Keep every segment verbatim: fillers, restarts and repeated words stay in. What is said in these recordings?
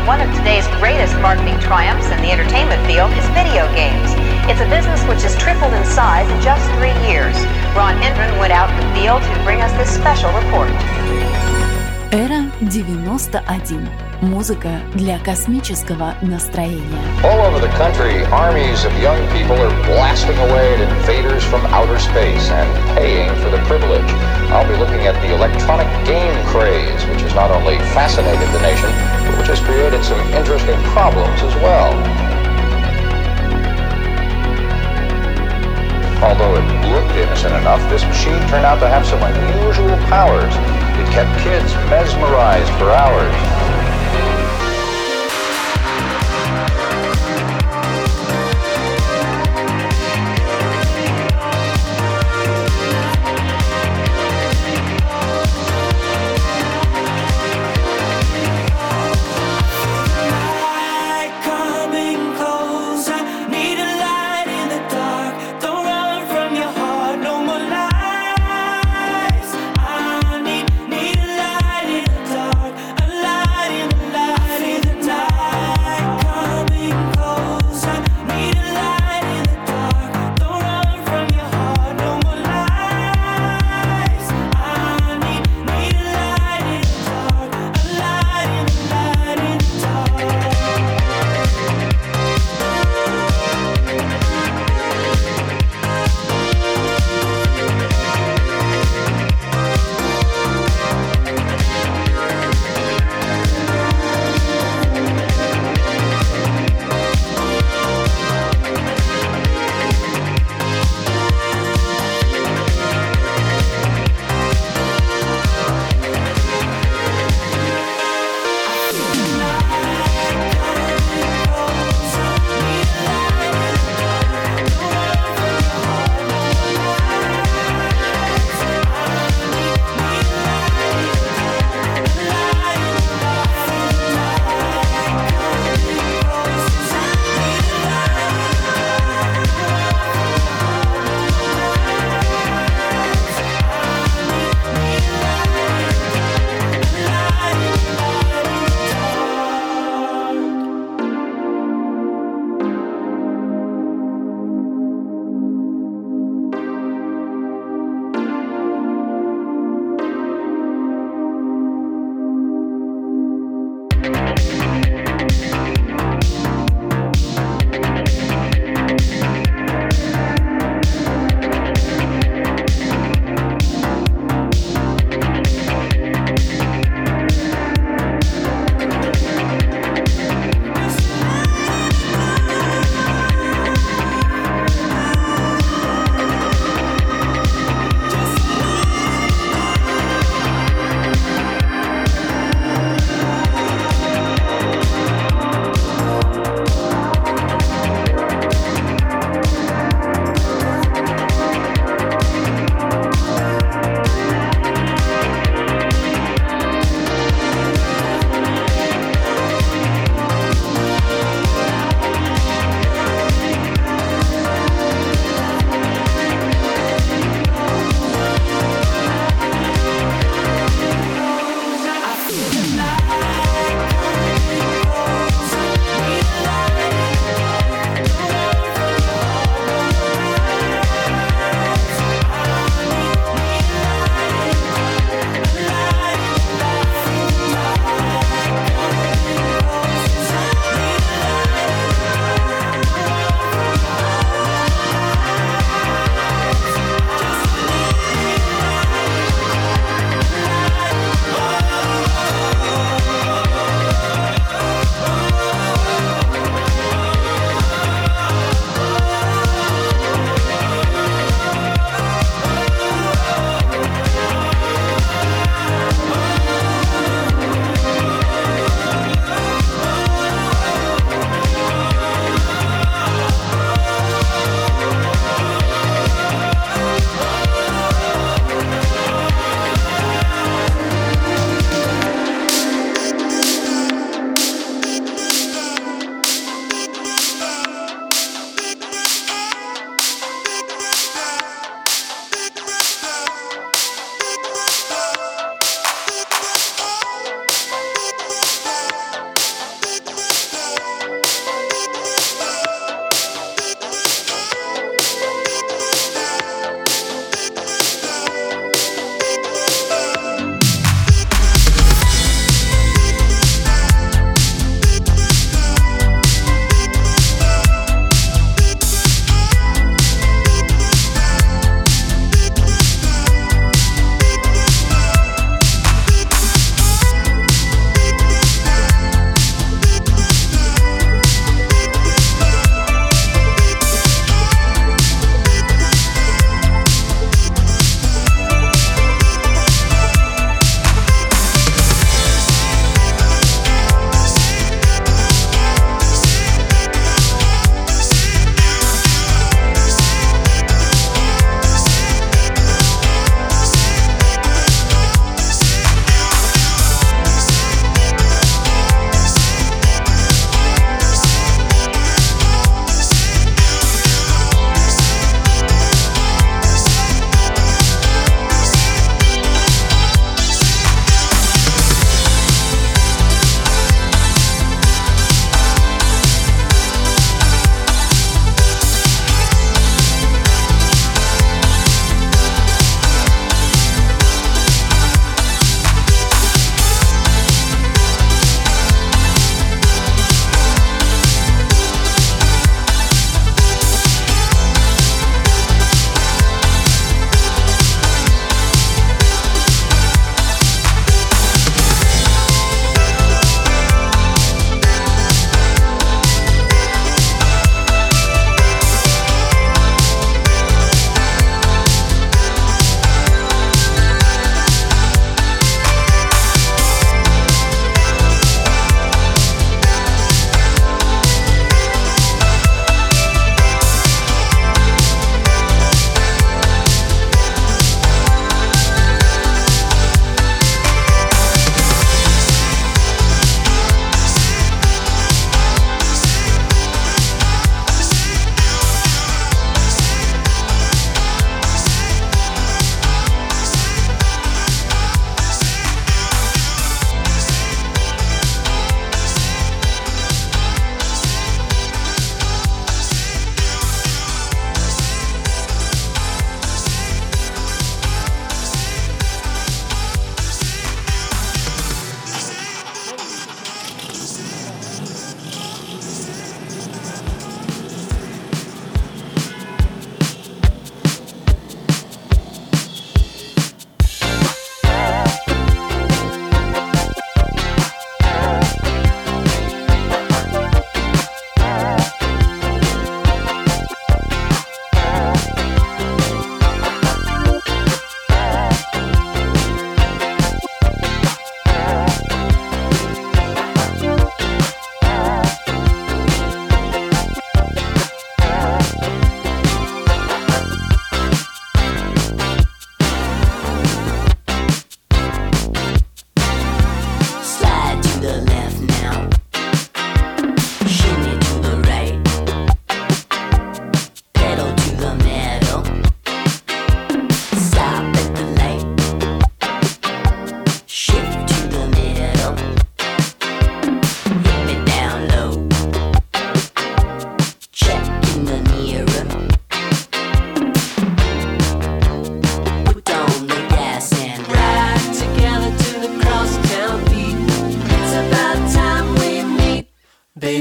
One of today's greatest marketing triumphs in the entertainment field is video games. It's a business which has tripled in size in just three years. Ron Hendren went out in the field to bring us this special report. Эра девяносто один. Музыка для космического настроения. All over the country, armies of young people are blasting away at invaders from outer space and paying for the privilege. I'll be looking at the electronic game craze, which has not only fascinated the nation, but which has created some interesting problems as well. Although it looked innocent enough, this machine turned out to have some unusual powers. It kept kids mesmerized for hours. Light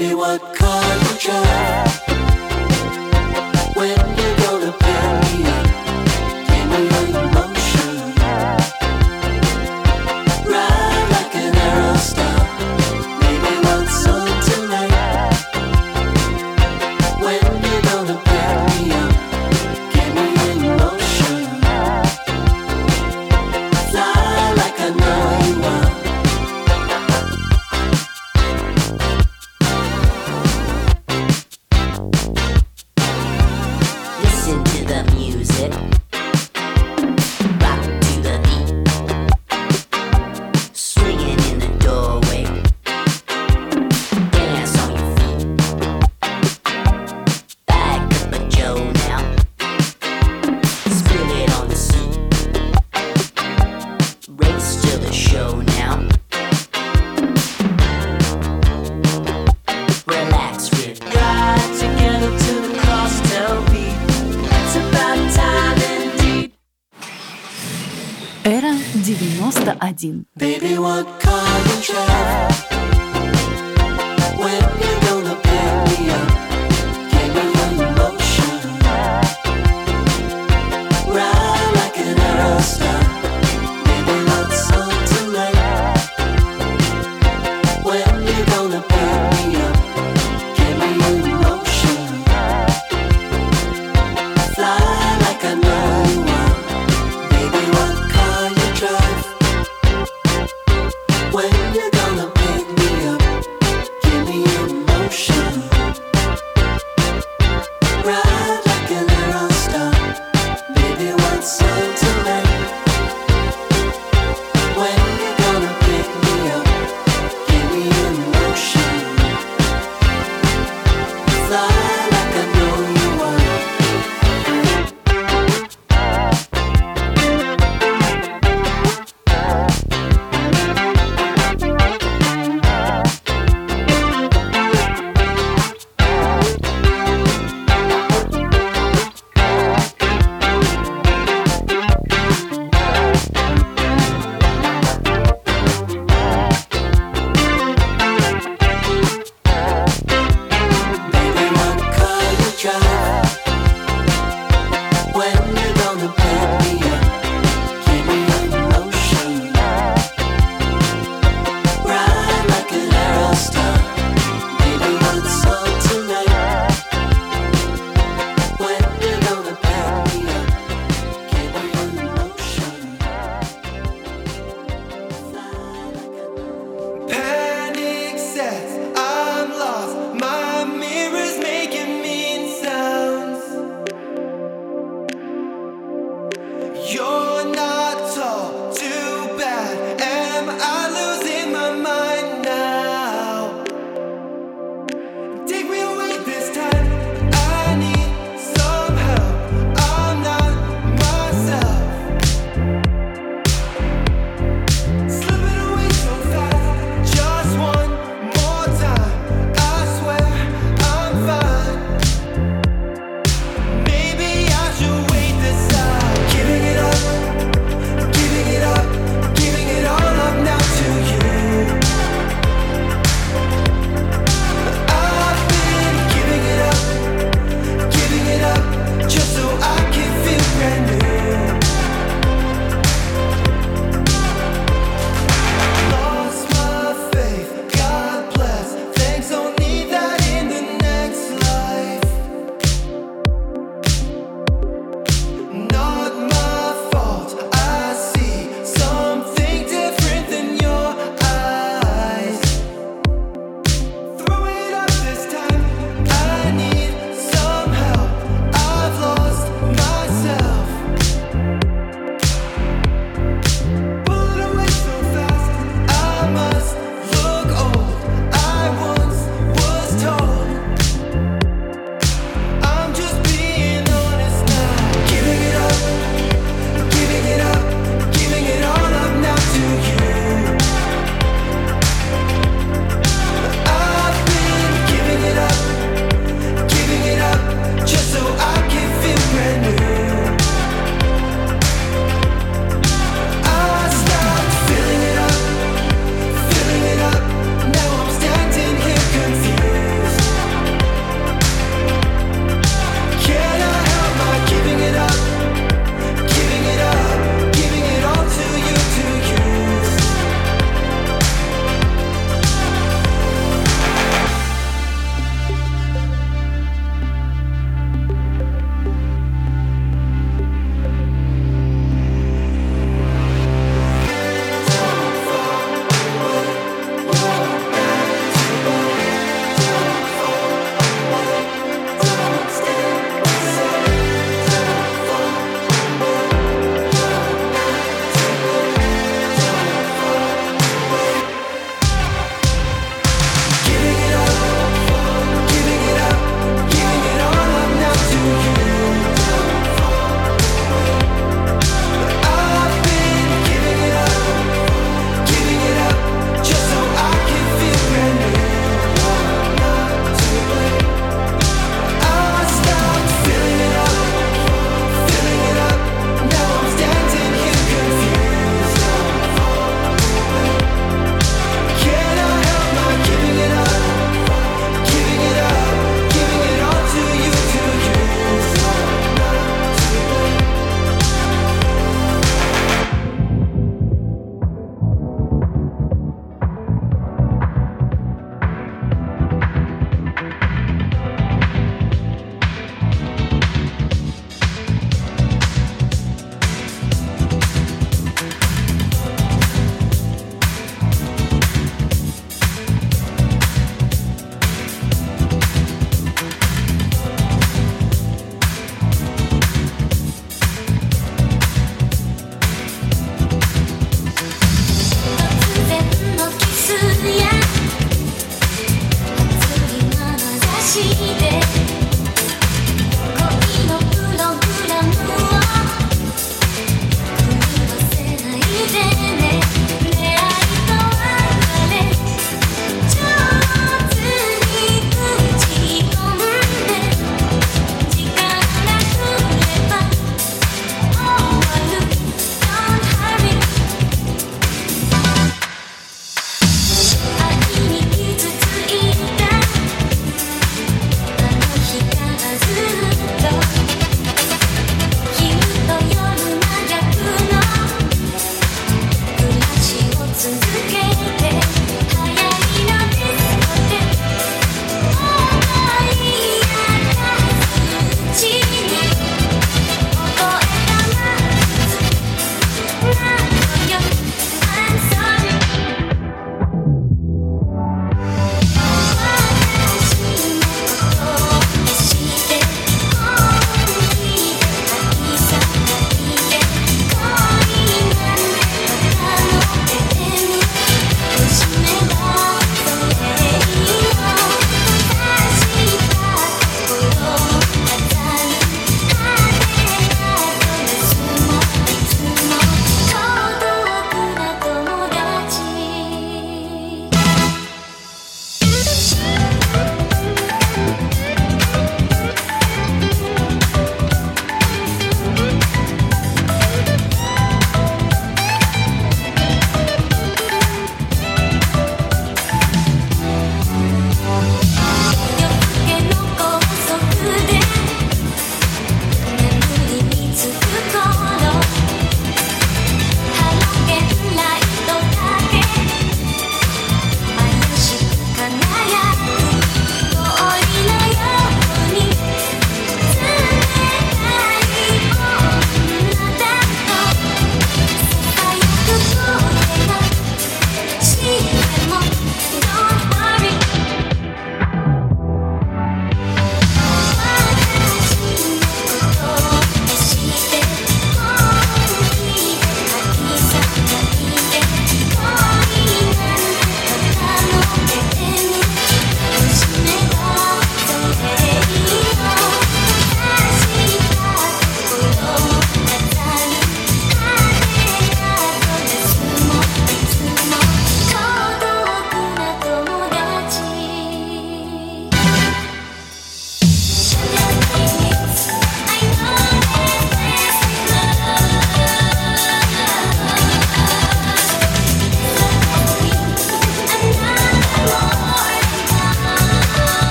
Baby, what car you drive? When you gonna pick me up? Give me your emotion. Ride like an arrow star. Baby, what's on tonight? When you gonna pick me up? Give me your emotion. Fly like I know you are. Listen to the music, rock to the beat, swinging in the doorway, dance on your feet, back up a Joe now, spill it on the seat, race to the show now, relax with ride together to the crosstown beat. It's about time indeed. Эра девяносто один. Baby, what car you drive? When you gonna pick me up? Give me your emotion. Ride like an arrow star. Baby, what's on tonight? When you gonna pick me up? Give me your emotion. Fly like I know you are. Baby, what car you drive? When you gonna pick me up? Give me your emotion.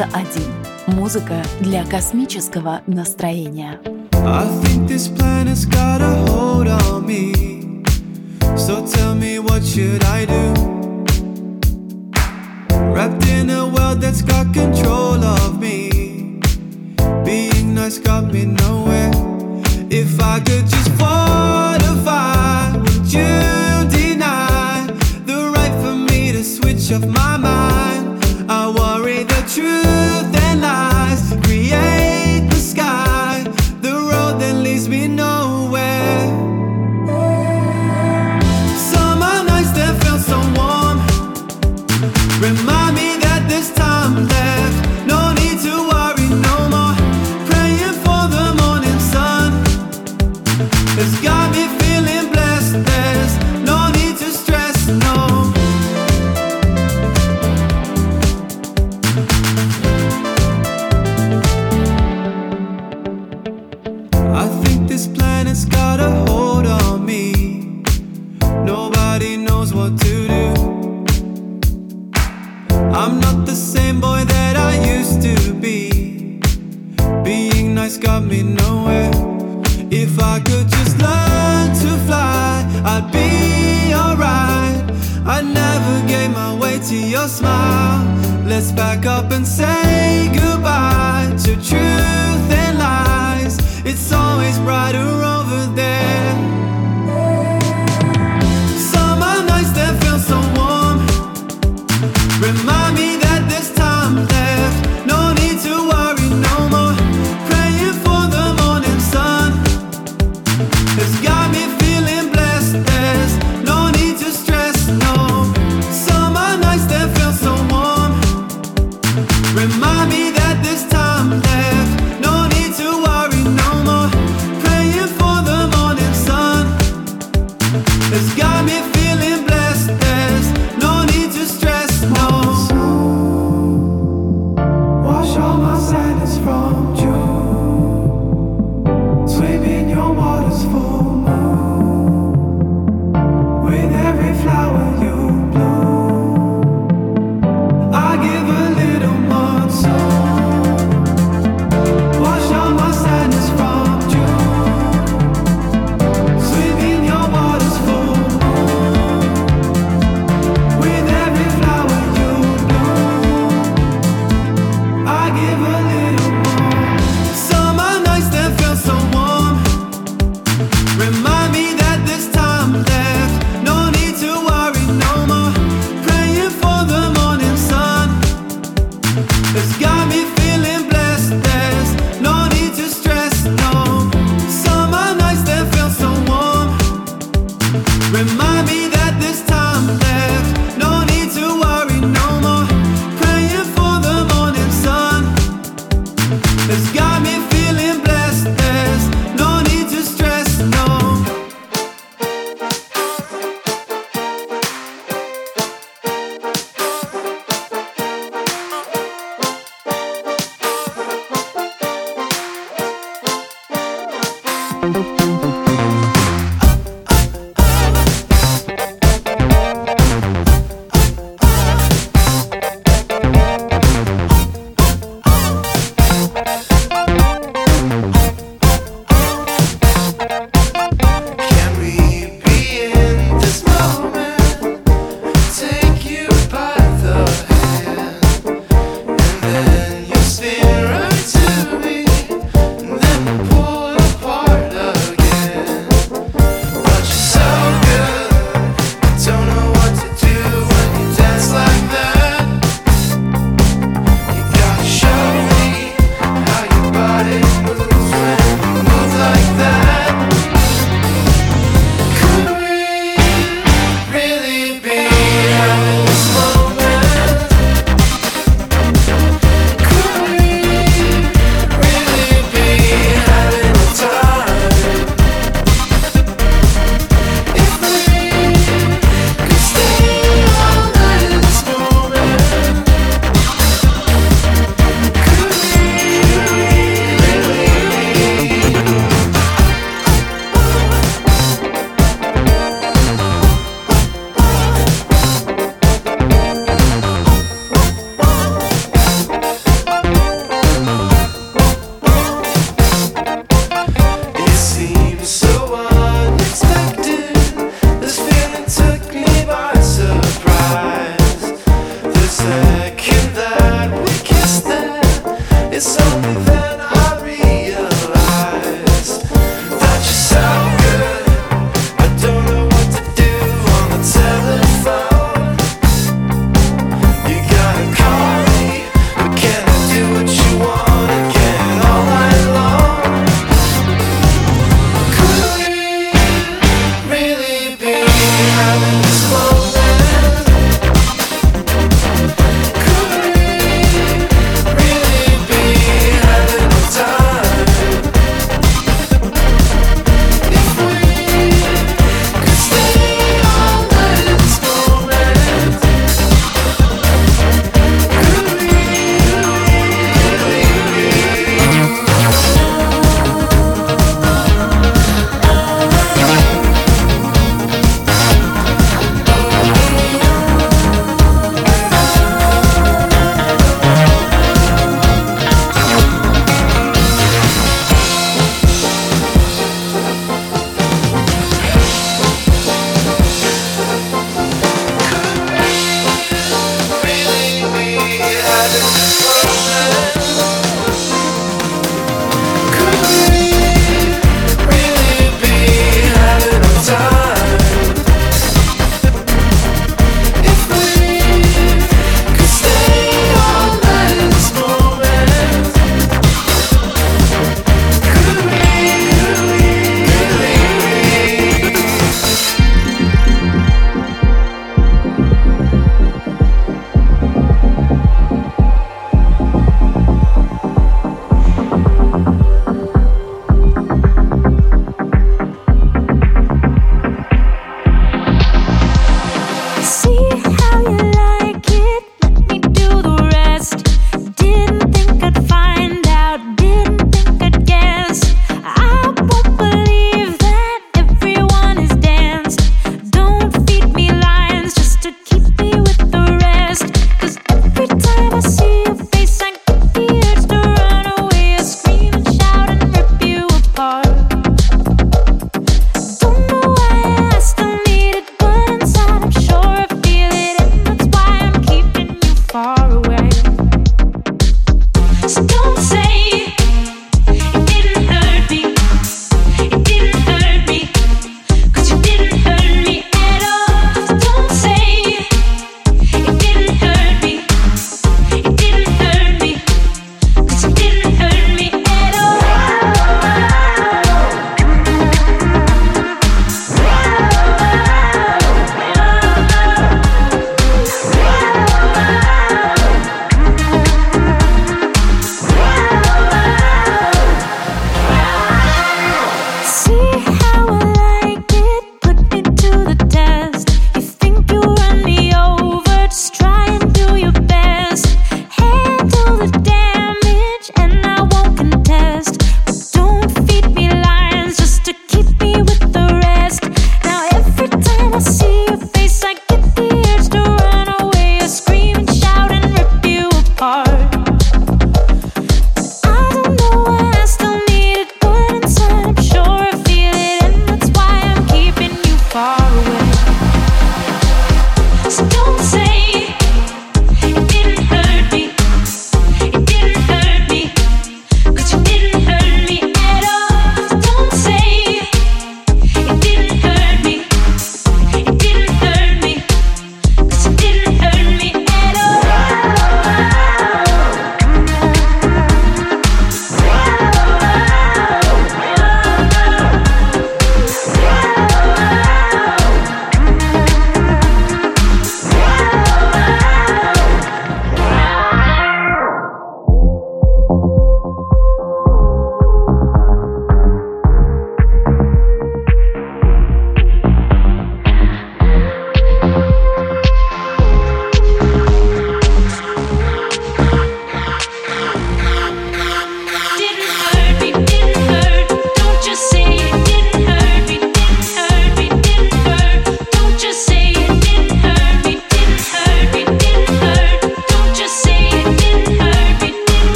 девяносто один. Музыка для космического настроения. I think this planet's got a hold on me. So tell me, what should I do? Wrapped in a world that's got control of me. Being nice got me nowhere. If I could just fortify, would you deny the right for me to switch off my mind? I worry the truth and lies create the sky, the road that leads me nowhere. Summer nights that felt so warm remind me that there's time left. No need to worry no more. Praying for the morning sun. It's got me feeling blessed. There's no need to stress, no. I think this planet's got a hold on me. Nobody knows what to do. I'm not the same boy that I used to be. Being nice got me nowhere. If I could just learn to fly, I'd be alright. I'd navigate my way to your smile. Let's back up and say goodbye to truth and lies. It's always brighter over there. Summer nights that feel so warm remind me that there's time left. No need to worry no more. Praying for the morning sun. It's got me feeling blessed. There's no need to stress, no. Summer nights that feel so warm remind me that there's time left. No need to worry no more. Praying for the morning sun.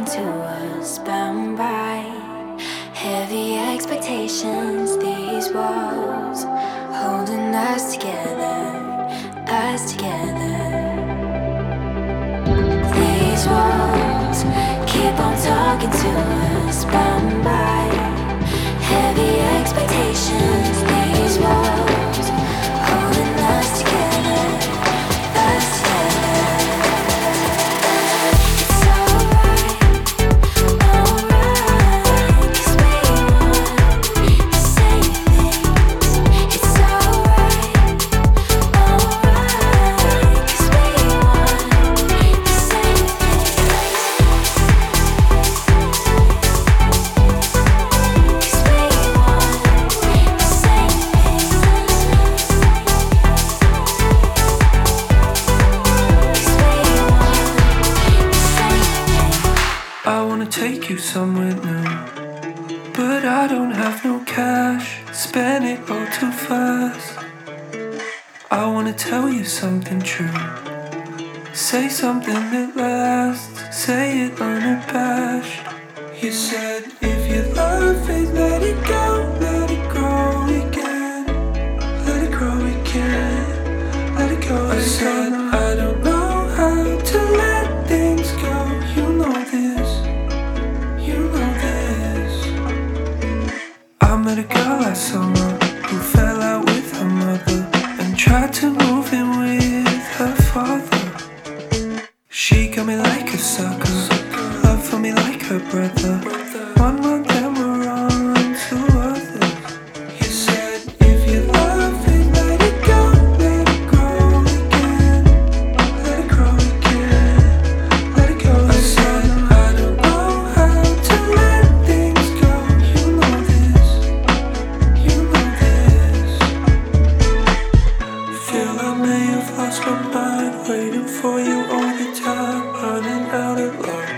to us, bound by heavy expectations. These walls holding us together, us together. These walls keep on talking to us, bound by heavy expectations. These walls holding us together, us together. It's alright, alright, 'cause we want the same things. It's alright, alright, 'cause we want the same I wanna take you somewhere new, but I don't have no cash. Spend it all too fast. I wanna tell you something true. Say something that lasts. Say it unabashed. You said if you love it, let it go, let it grow again. Let it grow again. Let it go. I said I don't know how to let things go. You know this. You know this. I met a girl last summer who fell out with her mother and tried to move in with her father. She got me like a sucker, love for me like her brother. One month and we're on to others. You said if you love it, let it go, let it grow again. Let it grow again. Let it go. I said I don't know how to let things go. You know this. You know this. Feel I may have lost my mind, waiting for you all the time, running out of luck.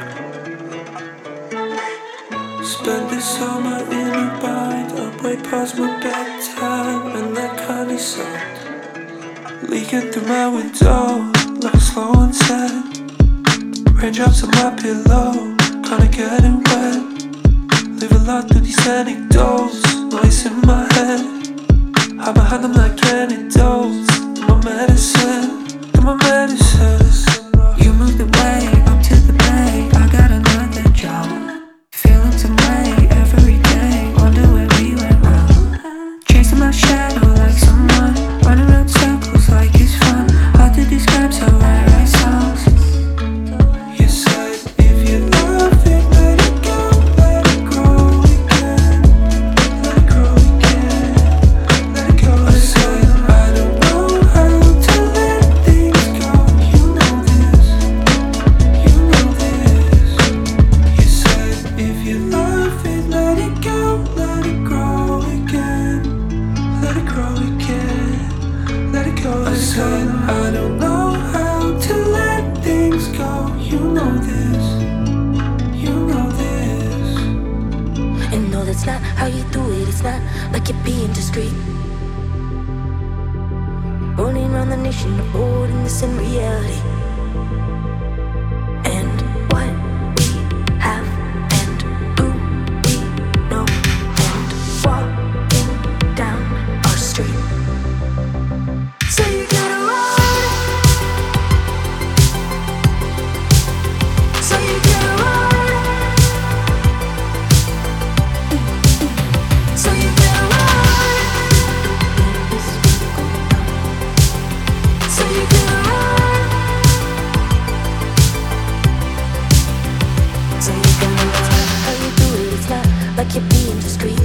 Spent the summer in a bind, up way past my bedtime, and that kinda sucked. Leaking through my window, like a slow onset. Raindrops on my pillow, kinda getting wet. Live a lot through these anecdotes, noise in my head. Hide behind them like antidotes. My medicine, my medicine. You moved away, up to the bay. I got another job. Feeling some way every day. Wonder where we went wrong. Chasing my shadow like someone, running around circles like it's fun. Hard to describe, so I write songs. You said if you love it, let it go, let it grow again. Let it grow again. Let it go. I said I don't know how to let things go. You know this. You know this. You said if you love it, let it go, let it grow again. Let it grow again. Let it go. I said I don't know how to let things go. You know this. You know this. And no, that's not how you do it. It's not like you're being discreet. Running around the nation, avoiding this in reality. And what we have and who we know, and walking down our street. So you gotta run. So you gotta run. So you gotta run. So you gotta run. So you gotta run. How you do it? It's not like you're being discreet.